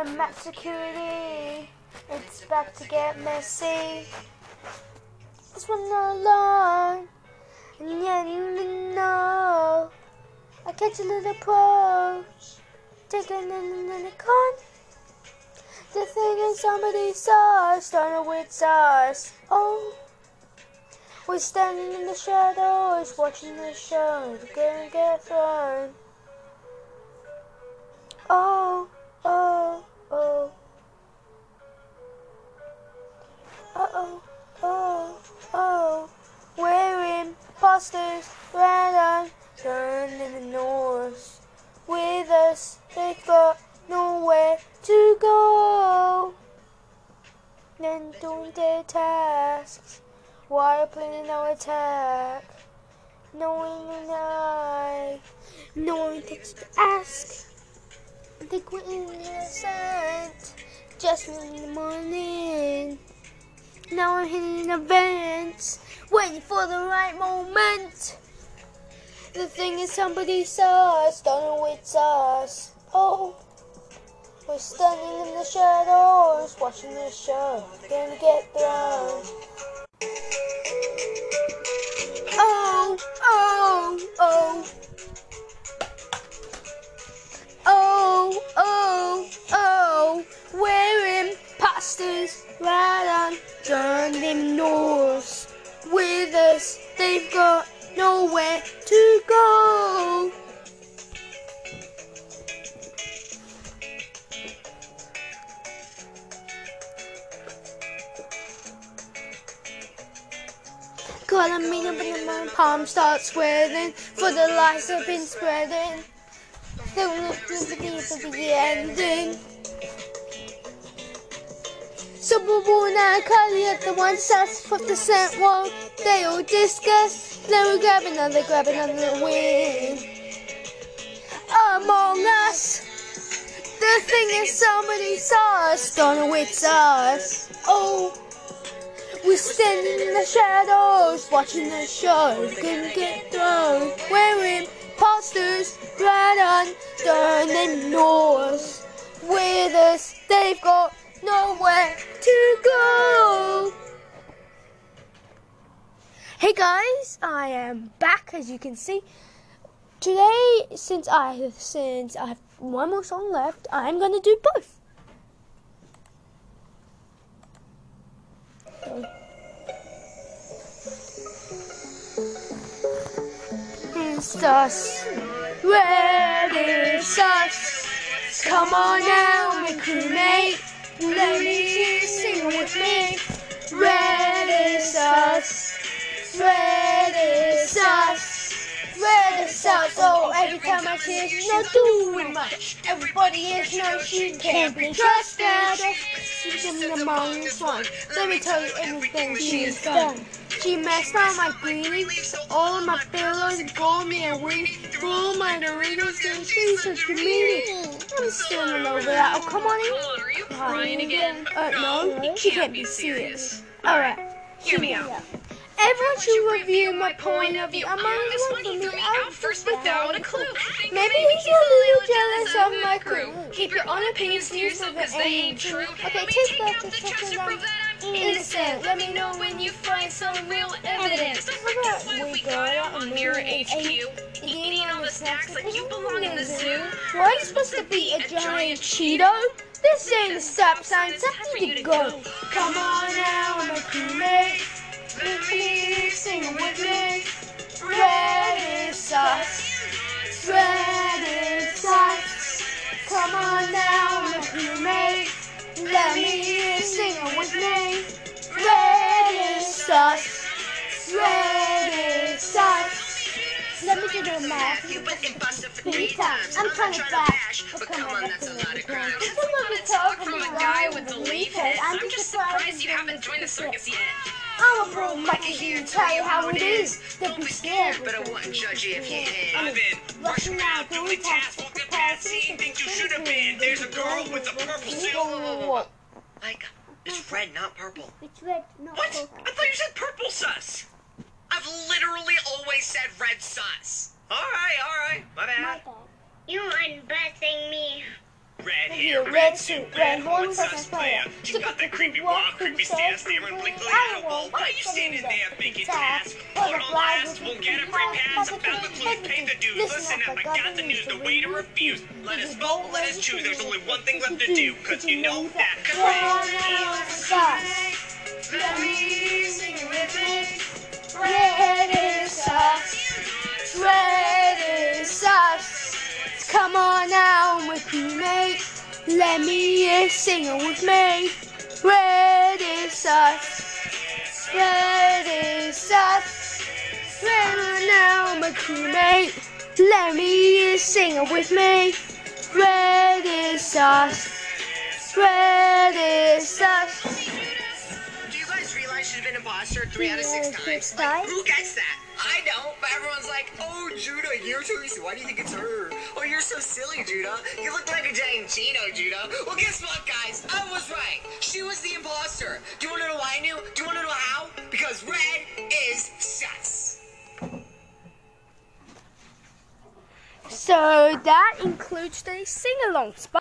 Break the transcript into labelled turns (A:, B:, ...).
A: I'm at security. It's about to get messy. This one alone. And yet you know I catch a little approach. Taking in a con. The thing is somebody saw us, starting with us. Oh, we're standing in the shadows, watching the show. We're gonna get thrown. Oh, oh, oh. Uh-oh, oh, oh. We're imposters, right on, turned in the north. With us, they've got nowhere to go. Then doing their tasks, while planning our attack. Knowing no one gets to ask. They quit innocent, just in the morning. Now I'm hitting events, waiting for the right moment. The thing is somebody saw us, don't know it's us. Oh, we're standing in the shadows, watching the show, gonna get thrown. Oh, oh, oh. Oh, oh, oh, we're imposters, right on, turned them north. With us, they've got nowhere to go. Calling me up and my palm starts sweating, for the lies have been spreading. They will look to the deep of the ending. Suburban and Kylie at the one sass, 50% wall. They all discuss. They will grab another win. Among us, the thing is somebody saw us, don't know it's us. Oh, we're standing in the shadows, watching the show, gonna get thrown. We're imposters, right on, turning north. With us, they've got nowhere to go. Hey guys, I am back, as you can see. Today, since I have one more song left, I'm gonna do both. It's us, red is us. Come on now, my crewmate, let me sing with me. Red is us, red is us, red is us. Oh, every time I see her, she's not doing much. Everybody is no, she can't be trusted. She's in the morning's one. Let me tell you everything she's done. She messed up my greenies, all of my pillows, called me a weenie, threw my Doritos, and she's such a meanie. I'm still in love with that. Oh, come on in.
B: Are you crying again?
A: No, she can't be serious. Alright,
B: Hear me out.
A: everyone should review my point of view. I'm on
B: This
A: one
B: one he
A: for
B: threw
A: me.
B: me out first without a clue.
A: Maybe he's a little jealous of my crew.
B: Keep your own opinions to yourself, cause they ain't true.
A: Okay,
B: Let me
A: take
B: take
A: back
B: out
A: the
B: the checks
A: checks
B: to
A: and
B: prove that I'm innocent. Let me know when you find some real evidence. Don't forget what we got out on Mirror HQ. Eating all the snacks like you belong in the zoo.
A: Why are you supposed to be a giant Cheeto? This ain't a stop sign, it's time for you to go. Come on now, my crewmate. Let me sing with me. Red is us. Red is us. Come on now, my crewmate. Let me hear you sing with me. Red is us. Red is us. Let me do the math.
B: You've been busted for 3 times.
A: I'm trying to bash,
B: but come on, that's a lot of crime.
A: It's
B: That's a lot of talk from a guy with a leaf head.
A: I'm
B: I'm just surprised you haven't joined the circus yet.
A: I'm a pro monkey here to tell you how it is. Don't be scared,
B: but I wouldn't judge you if you did.
C: I've been rushing around doing tasks, walking past, seeing things you should have been. There's a girl with a purple suit.
A: Whoa.
B: Mike, it's red, not purple.
A: It's red, not
C: What?
A: purple.
C: I thought you said purple sus.
B: I've literally always said red sus.
C: All right, my
A: My
C: bad.
A: bad.
D: You unbussing me.
C: Red
A: here. Red suit, red horns,
C: sus player. You got the creepy walk, creepy stare, staring blinkly at a wall. Why are you standing there thinking task? Hold on last, we'll get a free pass. About the clues, pay the dues. Listen up, I got the news, the way to refuse. Let us vote, let us choose. There's only one thing left to do, cause you know that.
A: Let me sing it with me. Red is sus. Red is sus. Come on now with me, mate. Let me hear you sing it with me. Red is sus. Red is sus. Come on now, my crewmate. Let me hear you sing it with me. Red is sus. Red is sus.
C: Do you guys realize she's been imposter 3 out of 6 times? Like, who gets that? I don't, but everyone's like, oh, Judah, you're Teresa. Why do you think it's her? Oh, you're so silly, Judah. You look like a giant Cheeto, Judah. Well, guess what, guys? I was right. She was the imposter. Do you want to know why I knew? Do you want to know how? Because red is sus.
A: So that includes the sing-alongs.